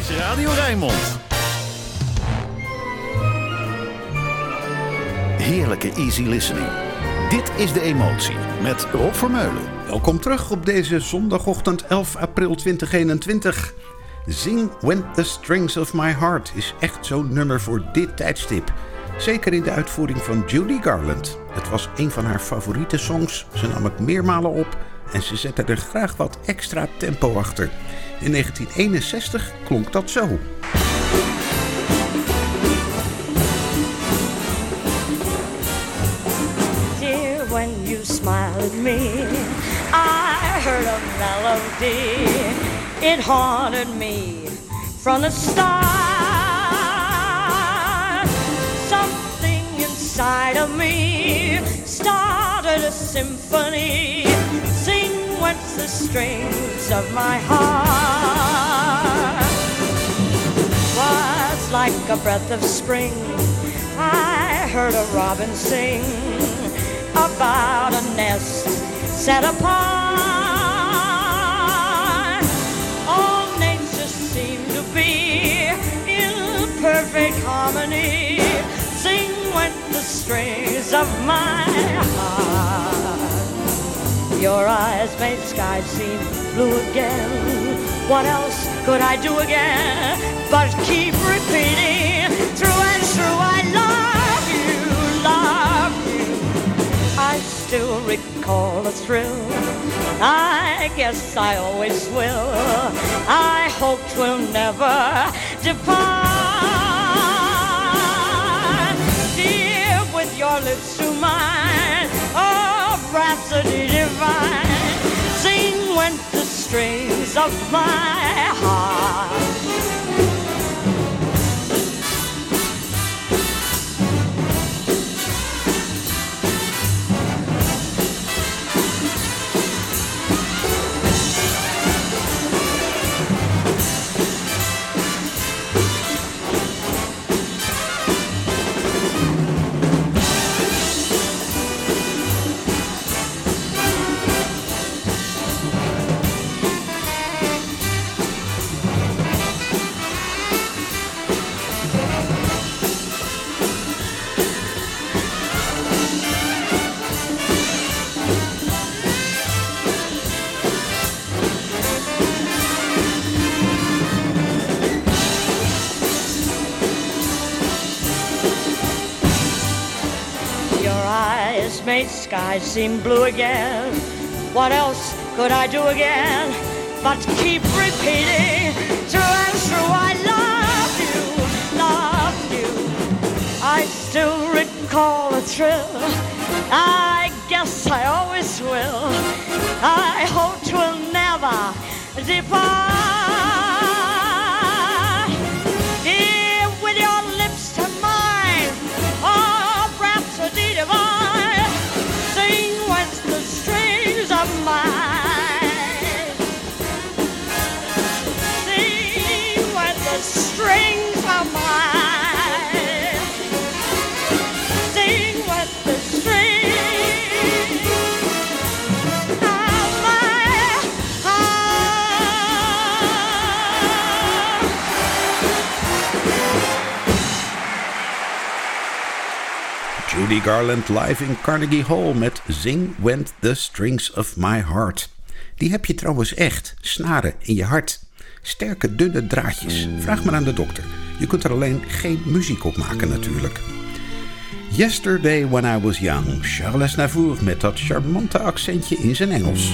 Radio Rijnmond. Heerlijke easy listening. Dit is De Emotie met Rob Vermeulen. Welkom terug op deze zondagochtend 11 april 2021. Zing When the Strings of My Heart is echt zo'n nummer voor dit tijdstip. Zeker in de uitvoering van Judy Garland. Het was een van haar favoriete songs. Ze nam het meermalen op en ze zette er graag wat extra tempo achter. In 1961 klonk dat zo. Dear, when you smile at me, I heard a melody. It haunted me from the start. Something inside of me started a symphony. Sing with the strings of my heart. Was like a breath of spring. I heard a robin sing about a nest set apart. All nature seemed to be in perfect harmony. Sing with the strings of my heart. Your eyes made skies seem blue again. What else could I do again but keep repeating through and through? I love you, love you. I still recall the thrill. I guess I always will. I hope 'twill never depart. Dear, with your lips to mine, oh, rhapsody divine. Sing with the strings of my heart. Made skies seem blue again. What else could I do again but keep repeating through and through? I love you, love you. I still recall the thrill. I guess I always will. I hope 'twill never depart. Dear, with your lips to mine, oh, rhapsody divine. Of mine. Sing with the strings of mine. Sing with the strings of my heart. Judy Garland live in Carnegie Hall met Zing With the Strings of My Heart. Die heb je trouwens echt, snaren in je hart. Sterke, dunne draadjes. Vraag maar aan de dokter. Je kunt er alleen geen muziek op maken natuurlijk. Yesterday When I Was Young. Charles Aznavour met dat charmante accentje in zijn Engels.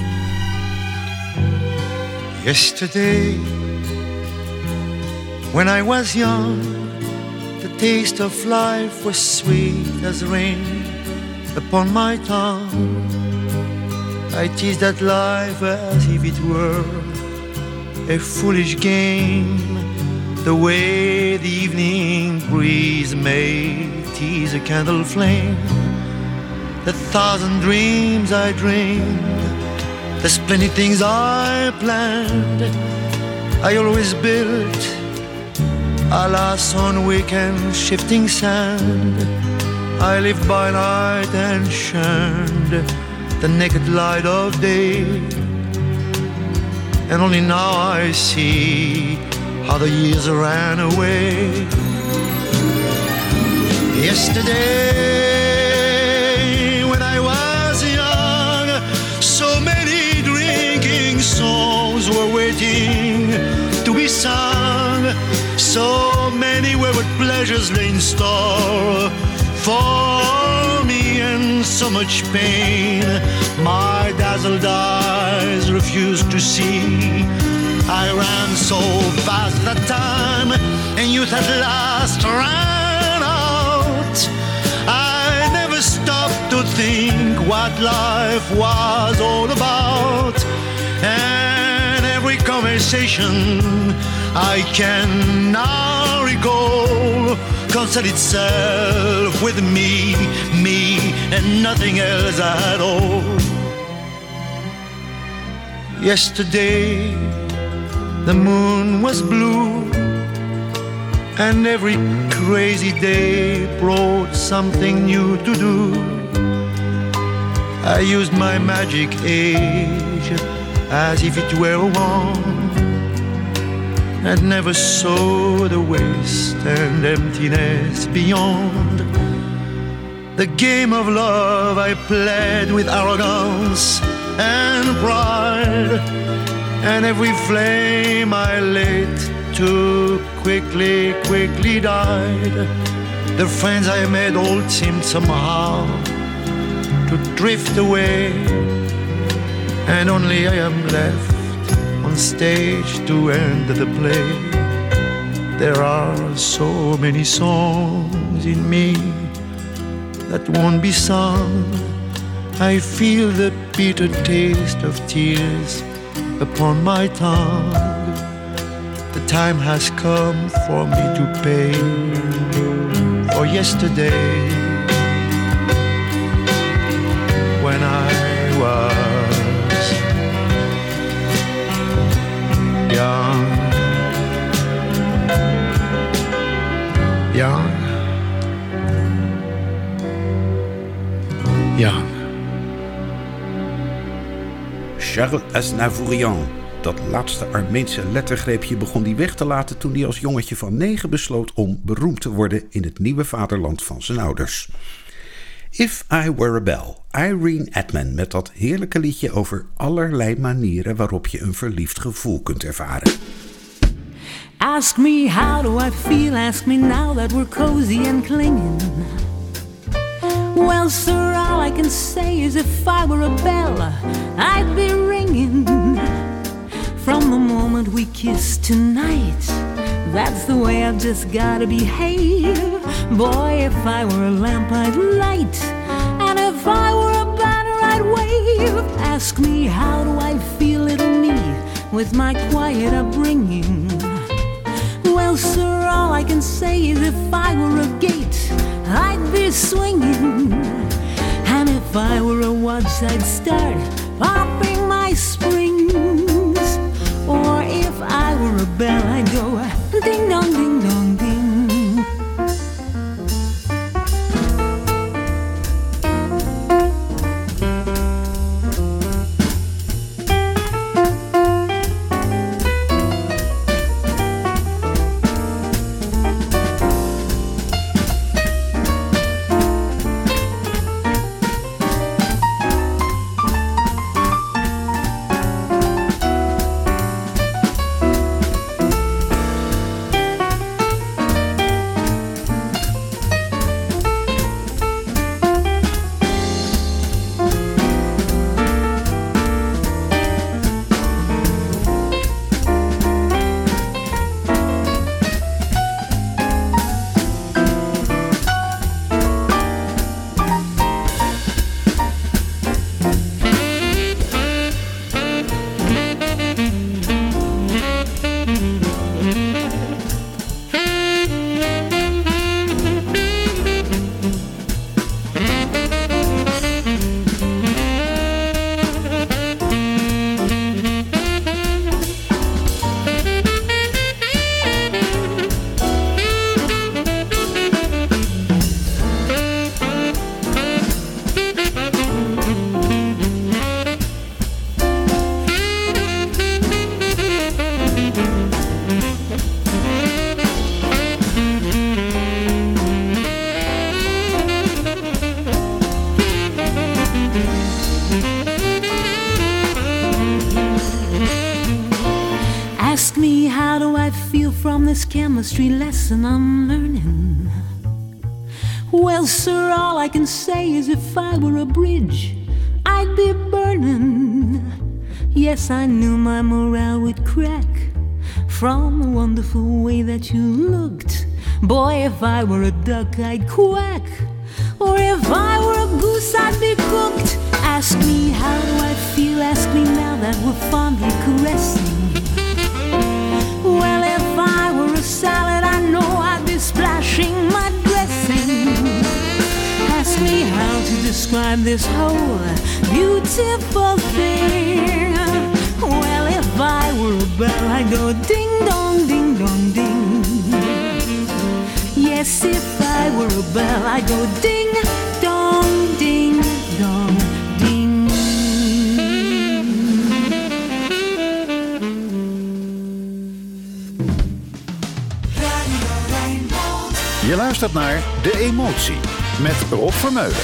Yesterday When I was young, the taste of life was sweet as rain upon my tongue. I teased at life as if it were a foolish game, the way the evening breeze may tease a candle flame. The thousand dreams I dreamed, the splendid things I planned, I always built, alas, on weekend shifting sand. I lived by night and shunned the naked light of day, and only now I see how the years ran away. Yesterday, when I was young, so many drinking songs were waiting to be sung. So many wayward pleasures lay in store for me, and so much pain my dazzled eyes refused to see. I ran so fast that time, and youth at last ran out. I never stopped to think what life was all about, and every conversation I can now recall concerned itself with me, and nothing else at all. Yesterday, the moon was blue, and every crazy day brought something new to do. I used my magic age as if it were a wand, and never saw the waste and emptiness beyond. The game of love I played with arrogance and pride, and every flame I lit too quickly died. The friends I made all seemed somehow to drift away, and only I am left on stage to end the play. There are so many songs in me that won't be sung. I feel the bitter taste of tears upon my tongue. The time has come for me to pay for yesterday, when I was young. Charles Aznavourian. Dat laatste Armeense lettergreepje begon hij weg te laten toen hij als jongetje van 9 besloot om beroemd te worden in het nieuwe vaderland van zijn ouders. If I Were a Bell, Irene Adman met dat heerlijke liedje over allerlei manieren waarop je een verliefd gevoel kunt ervaren. Ask me how do I feel, ask me now that we're cozy and clinging. Well, sir, all I can say is if I were a bell, I'd be ringing. From the moment we kissed tonight, that's the way I've just gotta behave. Boy, if I were a lamp, I'd light, and if I were a banner, I'd wave. Ask me how do I feel, little me, with my quiet upbringing. Well, sir, all I can say is if I were a gate, I'd be swinging. And if I were a watch, I'd start popping my springs. Or if I were a bell, I'd go ding dong, ding dong, ding. I feel from this chemistry lesson I'm learning. Well, sir, all I can say is if I were a bridge, I'd be burning. Yes, I knew my morale would crack from the wonderful way that you looked. Boy, if I were a duck, I'd quack. Or if I were a goose, I'd be cooked. Ask me how do I feel, ask me now that we're fondly caressing. Well, if I were a salad, I know I'd be splashing my dressing. Ask me how to describe this whole beautiful thing. Well, if I were a bell, I'd go ding dong, ding dong, ding. Yes, if I were a bell, I'd go ding dong, ding dong, ding. Je luistert naar De Emotie met Rob Vermeulen.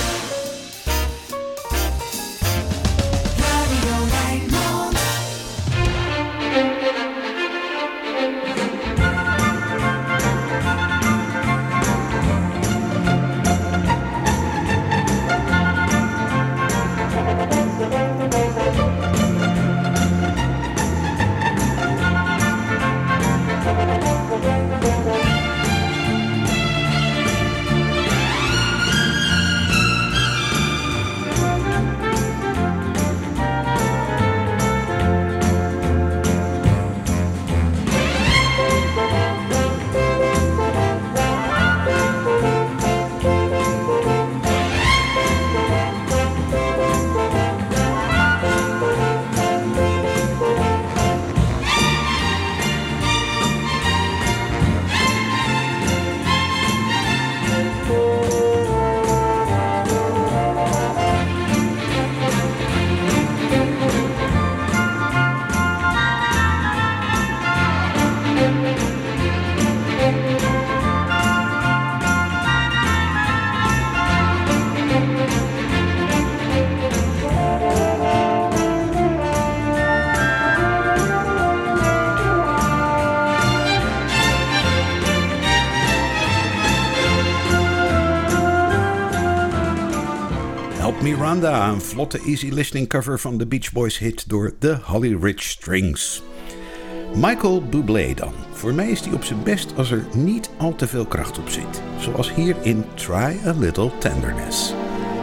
Miranda, een vlotte easy listening cover van de Beach Boys hit door de Holly Rich Strings. Michael Bublé dan. Voor mij is die op zijn best als er niet al te veel kracht op zit. Zoals hier in Try a Little Tenderness.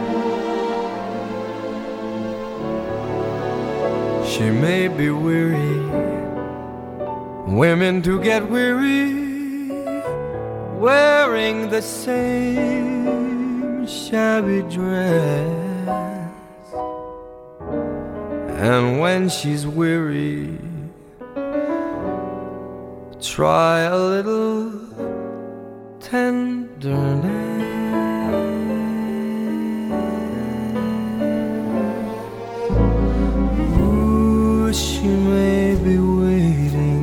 She may be weary, women do get weary, wearing the same shabby dress. And when she's weary, try a little tenderness. Ooh, she may be waiting,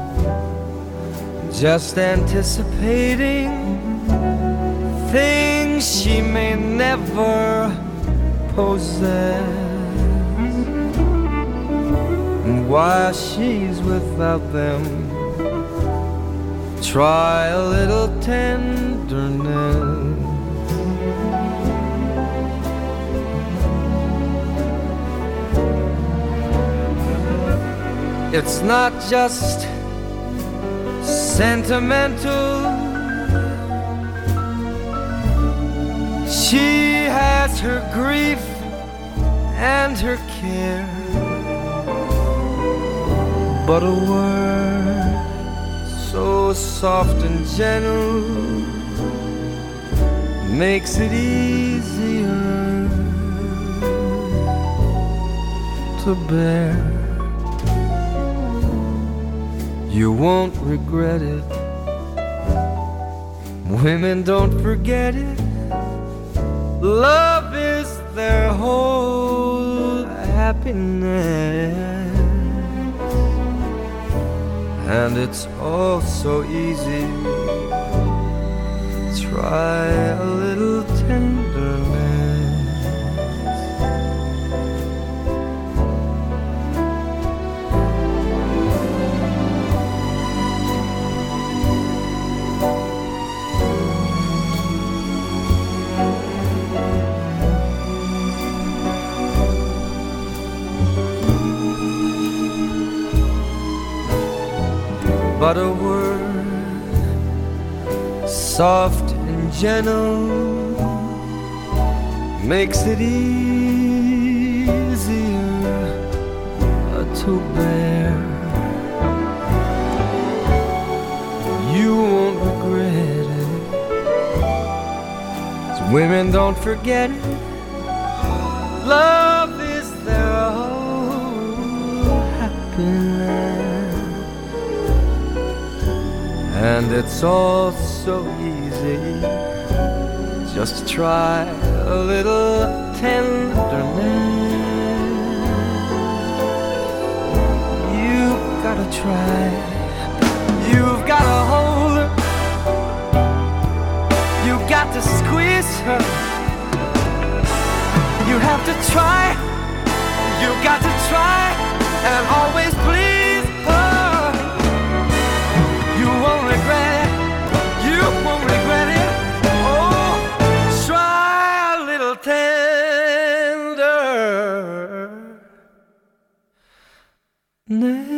just anticipating things she may never possess. And while she's without them, try a little tenderness. It's not just sentimental. She has her grief and her care, but a word so soft and gentle makes it easier to bear. You won't regret it. Women don't forget it. Love is their whole happiness. And it's all so easy. Try a little tenderness. soft and gentle makes it easier to bear. You won't regret it, 'cause women don't forget it. Love is their whole happiness, and it's all so easy. Just try a little tenderness. You've gotta try. You've gotta hold her. You've got to squeeze her. You have to try. You've got to try and always please her. You won't regret it. You won't regret it. Oh, try a little tenderness.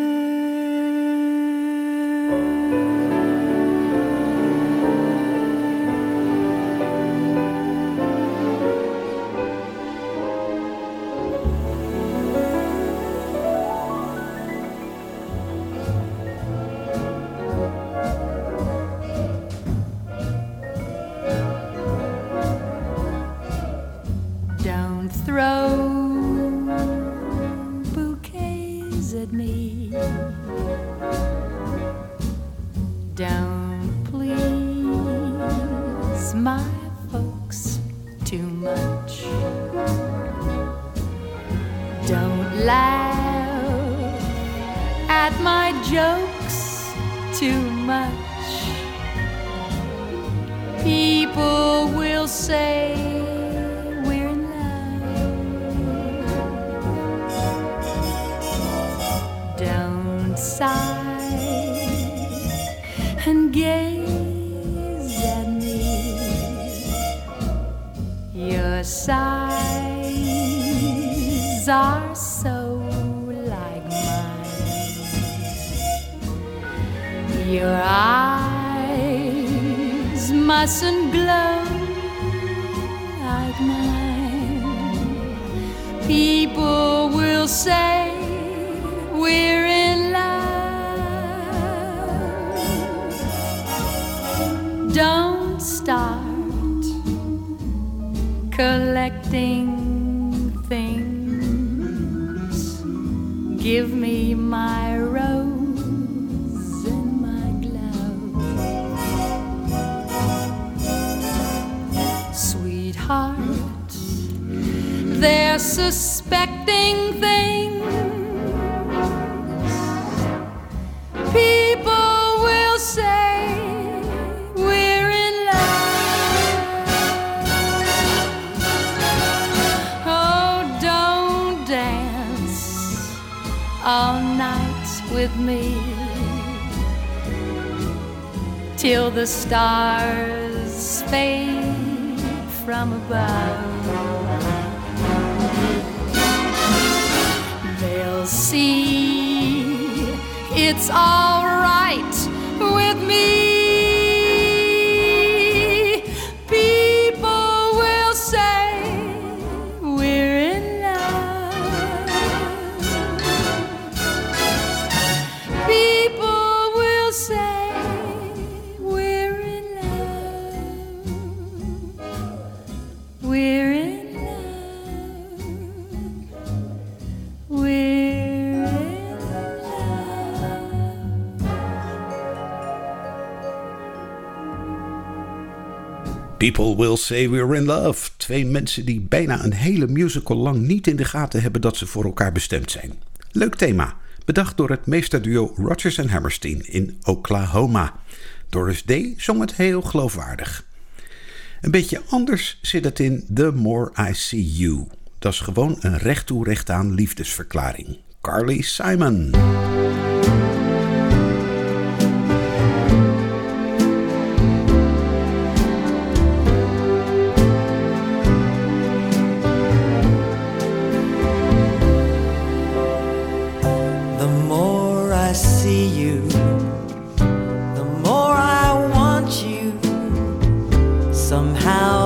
Throw bouquets at me. Don't please my folks too much. Don't laugh at my jokes too much. People will say and gaze at me. Your sighs are so like mine. Your eyes mustn't glow like mine. People will say we're in love. Don't start collecting things. Give me my rose and my glove. Sweetheart, they're suspecting things. People will say we're in love. Oh, don't dance all night with me till the stars fade from above. They'll see it's all right with me. People will say we're in love. People will say we're in love. We're in love. We're People Will Say We're in Love. Twee mensen die bijna een hele musical lang niet in de gaten hebben dat ze voor elkaar bestemd zijn. Leuk thema. Bedacht door het meesterduo Rodgers & Hammerstein in Oklahoma. Doris Day zong het heel geloofwaardig. Een beetje anders zit het in The More I See You. Dat is gewoon een recht toe recht aan liefdesverklaring. Carly Simon. I see you, the more I want you.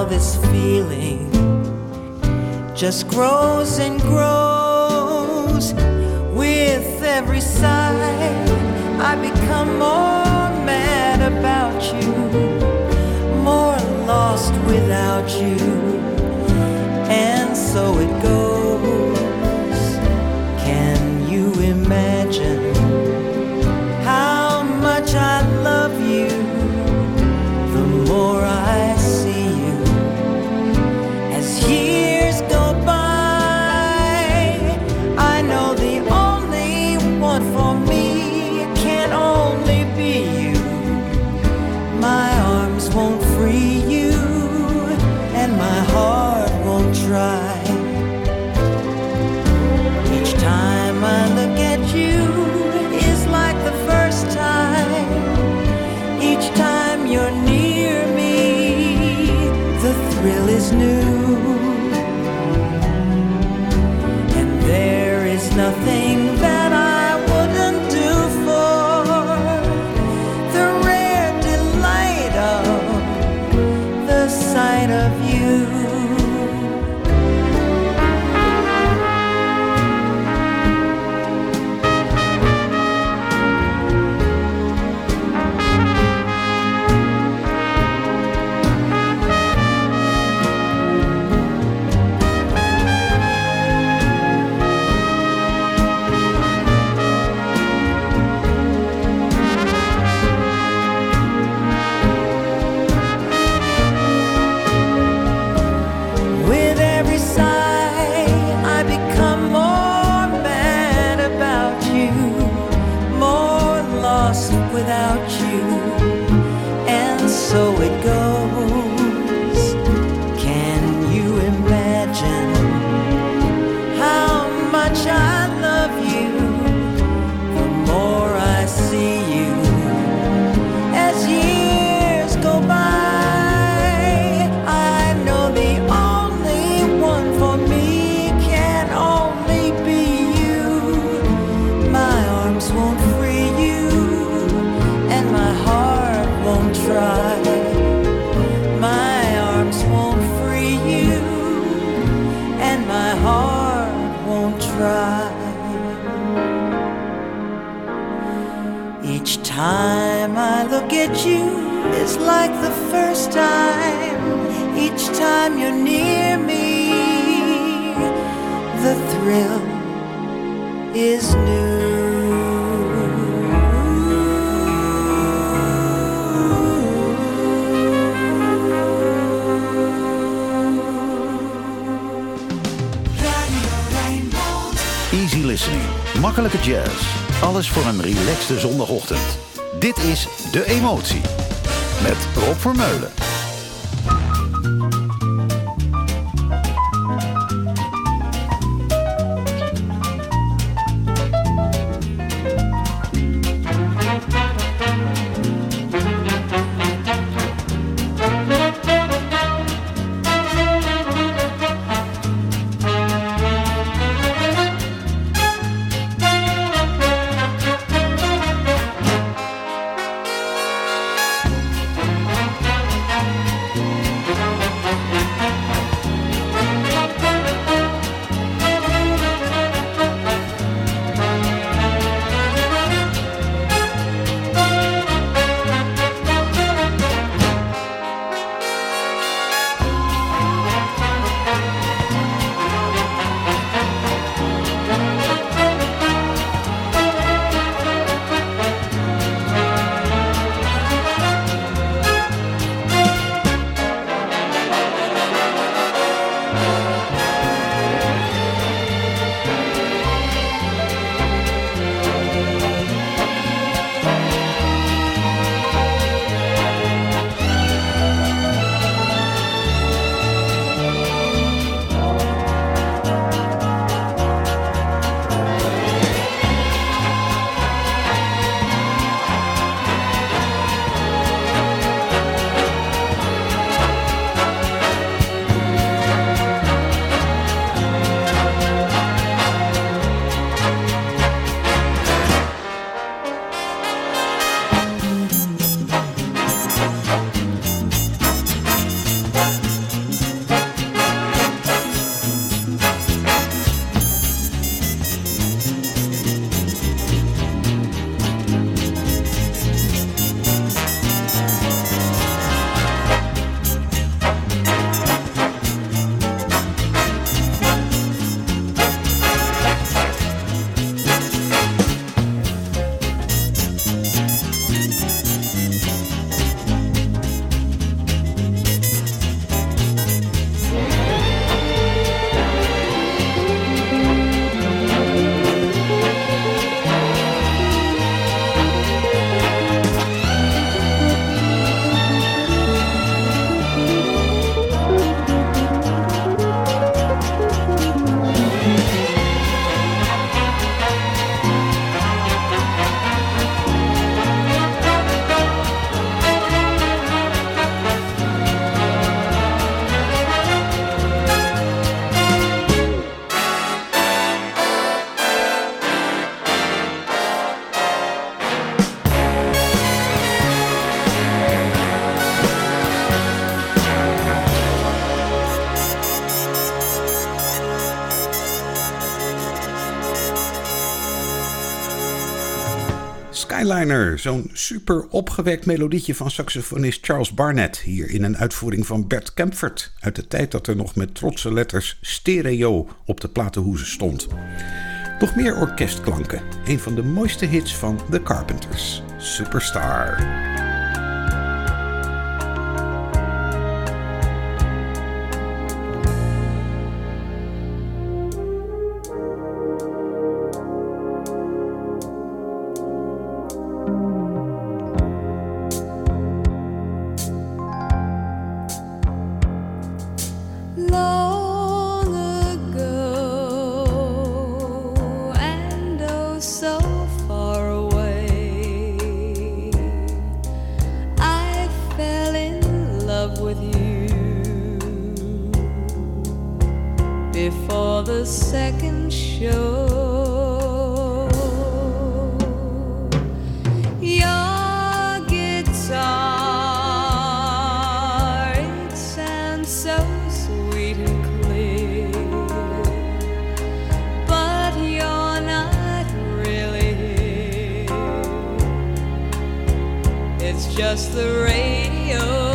this feeling just grows and grows. With every sigh, I become more mad about you, more lost without you, and so it goes. Can you imagine how much I love you? The more I see you, as years go by, I know the only one for me can only be you. My arms won't free you, and my heart won't try. Each time I look at you is like the first time. Each time you're near me, the thrill is new. And there is nothing that I wouldn't do for the rare delight of the sight of you. With every sigh, I become more mad about you, more lost without you, and so it goes. Can you imagine how much I love you? The more I see you, as years go by, I know the only one for me can only be you. My arms won't free you, and my heart won't try. My arms won't free you, and my heart won't try. Each time I look at you, it's like the first time. Each time you're near me, the thrill is new. Easy listening, makkelijke jazz. Alles voor een relaxte zondagochtend. Dit is De Emotie met Rob Vermeulen. Skyliner, zo'n super opgewekt melodietje van saxofonist Charles Barnett. Hier in een uitvoering van Bert Kaempfert. Uit de tijd dat er nog met trotse letters stereo op de platenhoezen stond. Nog meer orkestklanken. Een van de mooiste hits van The Carpenters. Superstar. Before the second show, your guitar, it sounds so sweet and clear, but you're not really here. It's just the radio.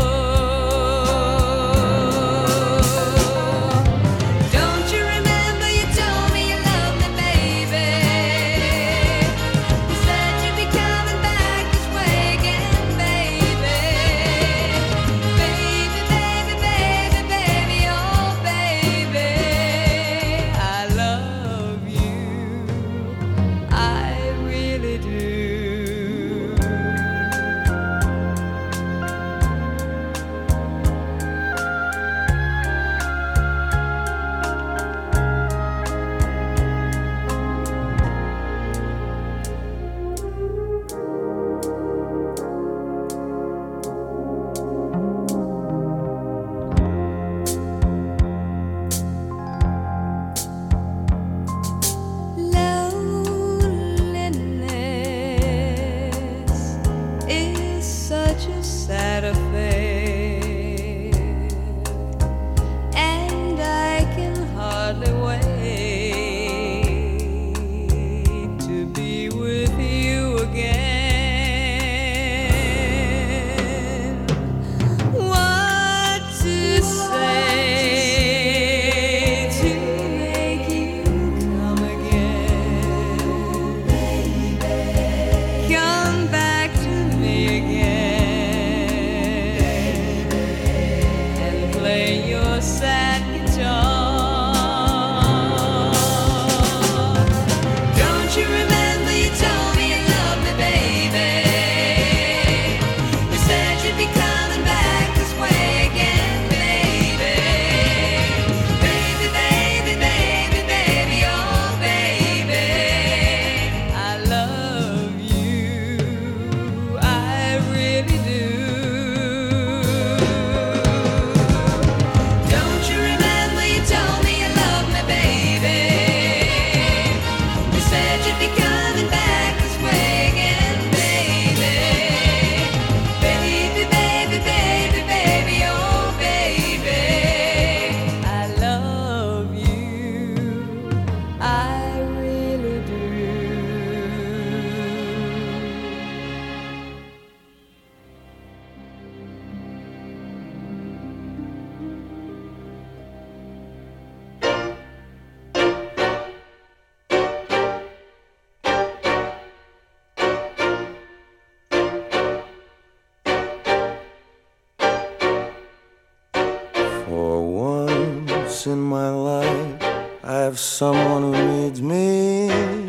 In my life, I have someone who needs me,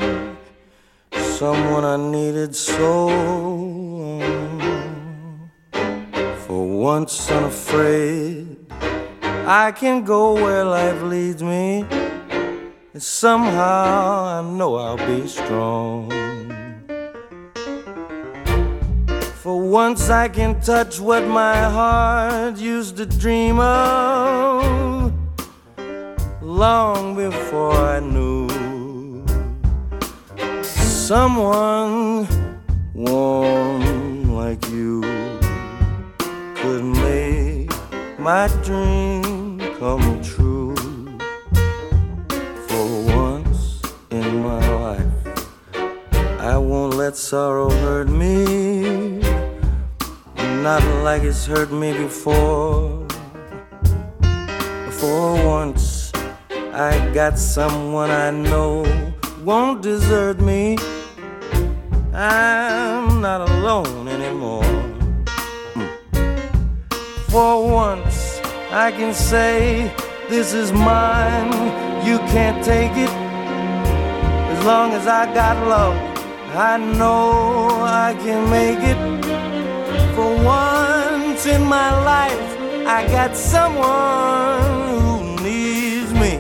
someone I needed so long. For once unafraid, I can go where life leads me, and somehow I know I'll be strong. For once I can touch what my heart used to dream of, long before I knew someone warm like you could make my dream come true. For once in my life, I won't let let sorrow hurt me, not like it's hurt me before. For once I got someone I know won't desert me. I'm not alone anymore. For once I can say, this is mine, you can't take it. As long as I got love, I know I can make it. For once in my life, I got someone who needs me.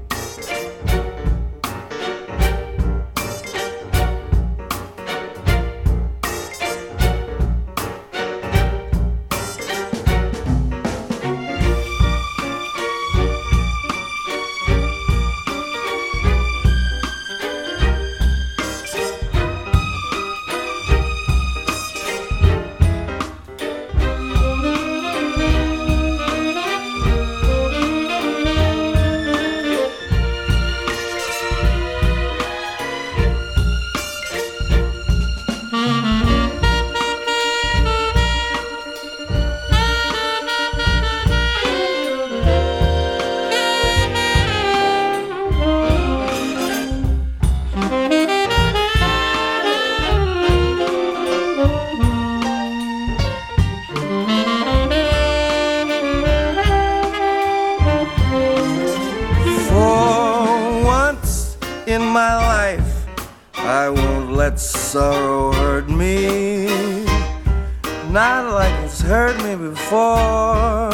Sorrow hurt me, not like it's hurt me before.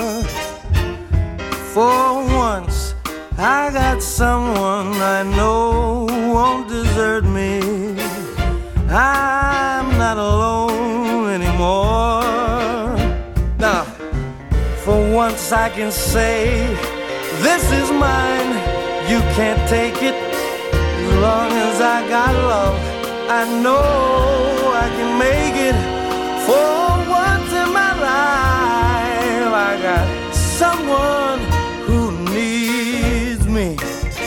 For once I got someone I know won't desert me. I'm not alone anymore. Now, for once I can say, this is mine, you can't take it. As long as I got love, I know I can make it. For once in my life, I got someone who needs me.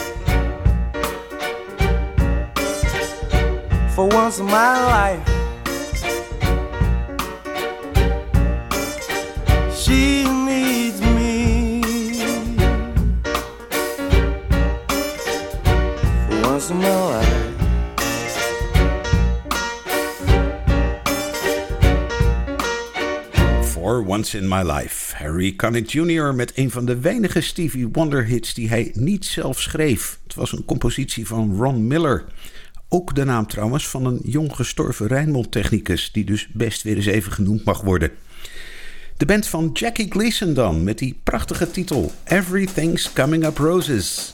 For once in my life, she needs me. For once in my life. For Once in My Life. Harry Connick Jr. met een van de weinige Stevie Wonder hits die hij niet zelf schreef. Het was een compositie van Ron Miller. Ook de naam trouwens van een jong gestorven Rijnmond-technicus, die dus best weer eens even genoemd mag worden. De band van Jackie Gleason dan, met die prachtige titel Everything's Coming Up Roses.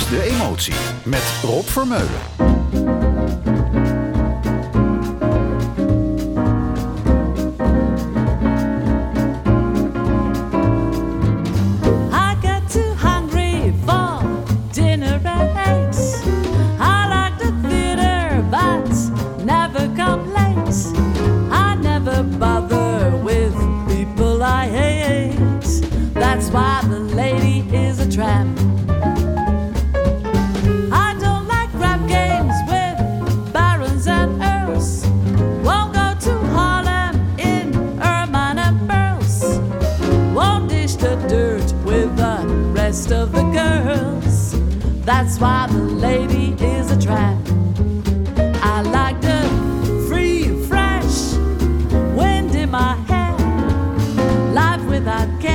is De Emotie met Rob Vermeulen. That's why the lady is a tramp. I don't like rap games with barons and earls. Won't go to Harlem in ermine and pearls. Won't dish the dirt with the rest of the girls. That's why the lady is a tramp. I like the free, fresh wind in my hair, life without care.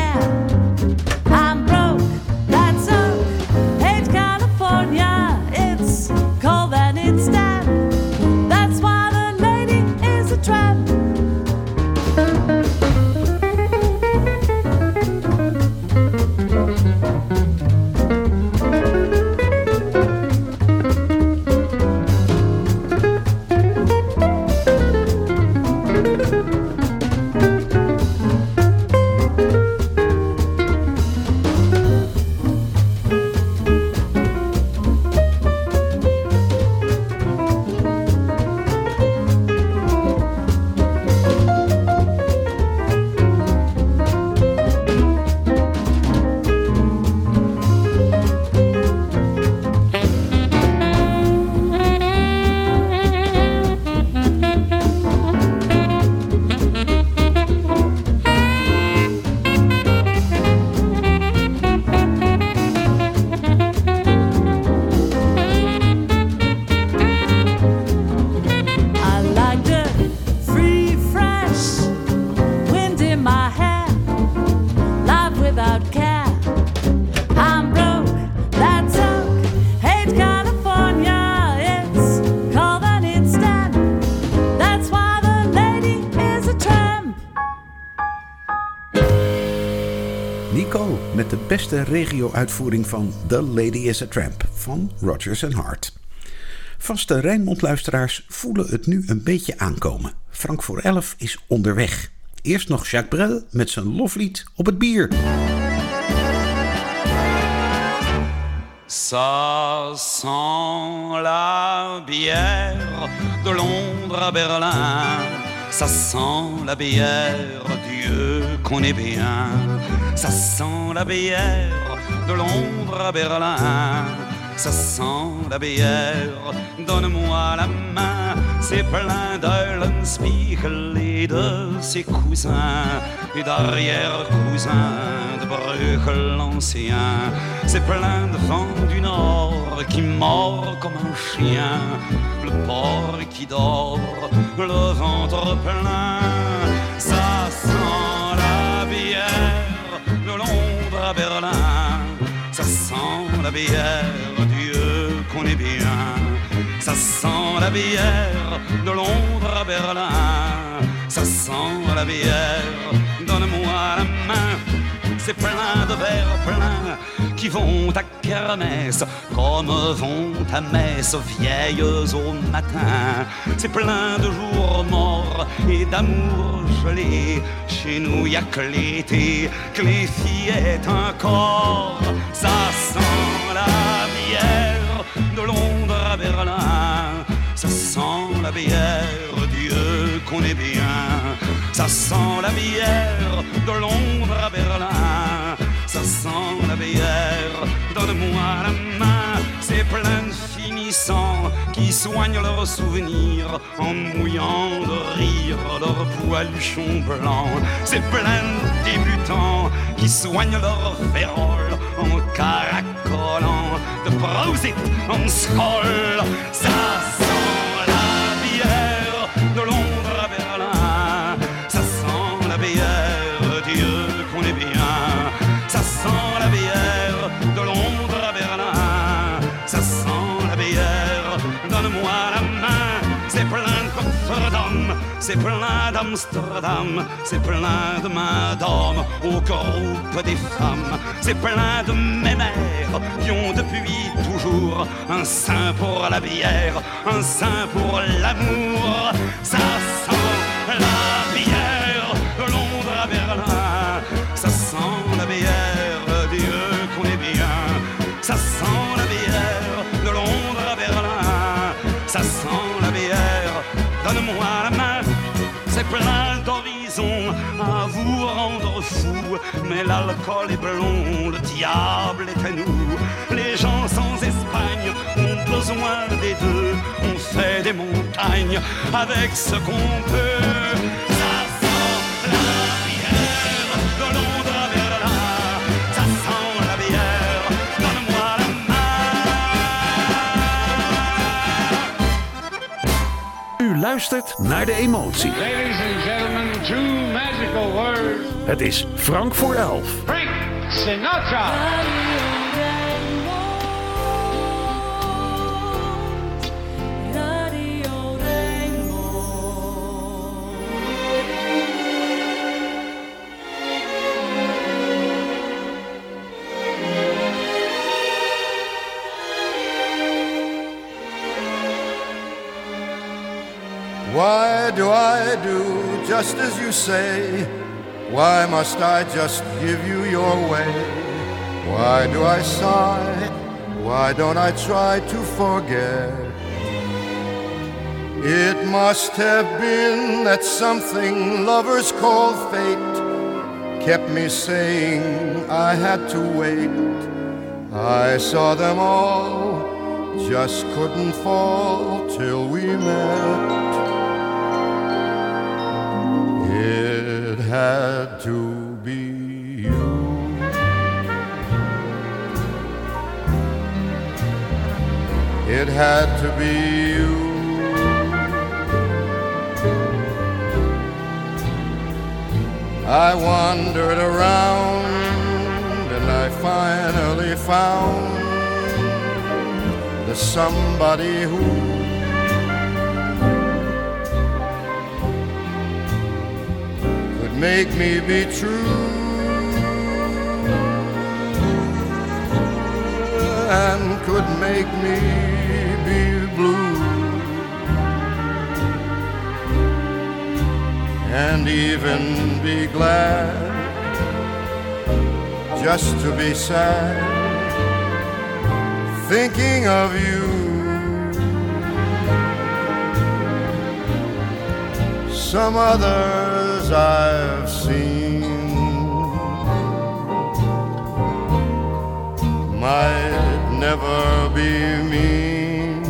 Nico met de beste regio-uitvoering van The Lady is a Tramp van Rodgers & Hart. Vaste Rijnmond-luisteraars voelen het nu een beetje aankomen. Frank voor 11 is onderweg. Eerst nog Jacques Brel met zijn loflied op het bier. Ça sent la bière de Londres à Berlin. Ça sent la bière, Dieu connaît bien. Ça sent la bière de Londres à Berlin. Ça sent la bière, donne-moi la main. C'est plein d'Eulenspiegel et de ses cousins et d'arrière-cousins de Bruegel l'ancien. C'est plein de vent du nord qui mord comme un chien. Le porc qui dort, le ventre plein. Ça sent la bière de Londres à Berlin. Ça sent la bière, Dieu connaît bien. Ça sent la bière de Londres à Berlin. Ça sent la bière, donne-moi la main. C'est plein de verres pleins qui vont à kermesse comme vont à messe vieilles au matin. C'est plein de jours morts et d'amour gelé. Chez nous y a que l'été, que les fillettes encore. Ça sent la bière de Londres à Berlin. Ça sent la bière, Dieu connaît bien. Ça sent la bière de Londres à Berlin. Ça sent la bière, donne-moi la main. C'est plein de finissants qui soignent leurs souvenirs en mouillant de rire leurs poiluchons blancs. C'est plein de débutants qui soignent leurs féroles en caracolant de Prosit en Skoll. Ça sent la bière de Londres à Berlin. Ça sent la bière, Dieu connaît bien. Ça sent la bière de Londres à Berlin. Ça sent la bière, donne-moi la main. C'est plein de coffres d'hommes c'est plein d'Amsterdam, c'est plein de mains d'hommes au groupe des femmes, c'est plein de mémères qui ont depuis toujours un sein pour la bière, un sein pour l'amour. Ça sent la bière de Londres à Berlin, ça sent la bière, Dieu qu'on est bien, ça sent la bière de Londres à Berlin, ça sent la bière, donne-moi la main, c'est plein d'horizons à vous rendre fou, mais l'alcool est blond, le diable est à nous, les gens sans Espagne ont besoin des deux, on fait des montagnes avec ce qu'on peut. Ça sent la bière de Londres à Berlin, ça sent la bière, donne-moi la main. U luistert naar De Emotie. Ladies and gentlemen, 2 magical words. Het is Frank voor 11. Frank Sinatra. Why do I do just as you say? Why must I just give you your way? Why do I sigh? Why don't I try to forget? It must have been that something lovers call fate kept me saying I had to wait. I saw them all, just couldn't fall till we met. It had to be you. It had to be you. I wandered around and I finally found the somebody who could make me be true and could make me be blue and even be glad just to be sad thinking of you. Some others I've seen might never be mean,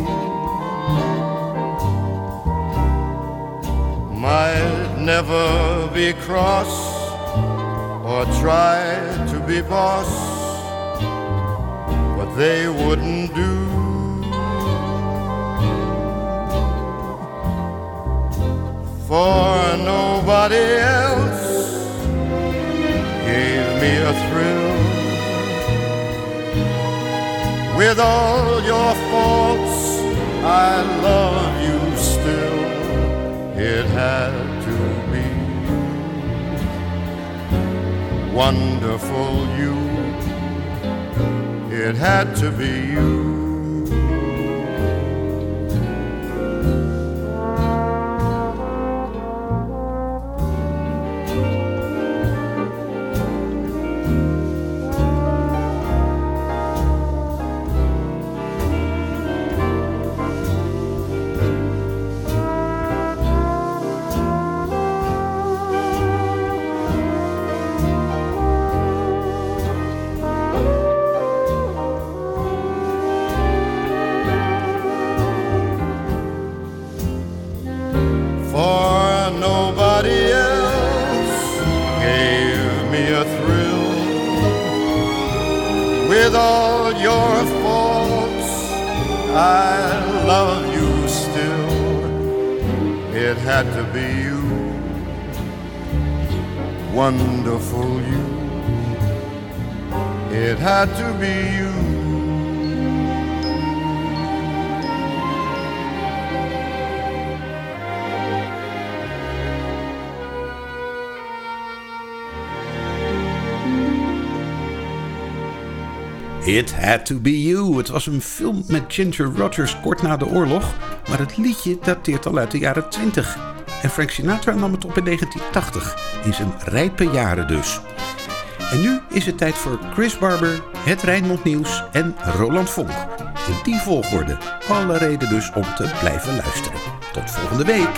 might never be cross or try to be boss, but they wouldn't do. For nobody else gave me a thrill. With all your faults, I love you still. It had to be wonderful you. It had to be you. With all your faults, I love you still. It had to be you, wonderful you. It had to be you. It Had To Be You. Het was een film met Ginger Rogers kort na de oorlog, maar het liedje dateert al uit de jaren 20. En Frank Sinatra nam het op in 1980, in zijn rijpe jaren dus. En nu is het tijd voor Chris Barber, het Rijnmond Nieuws en Roland Vonk. In die volgorde. Alle reden dus om te blijven luisteren. Tot volgende week.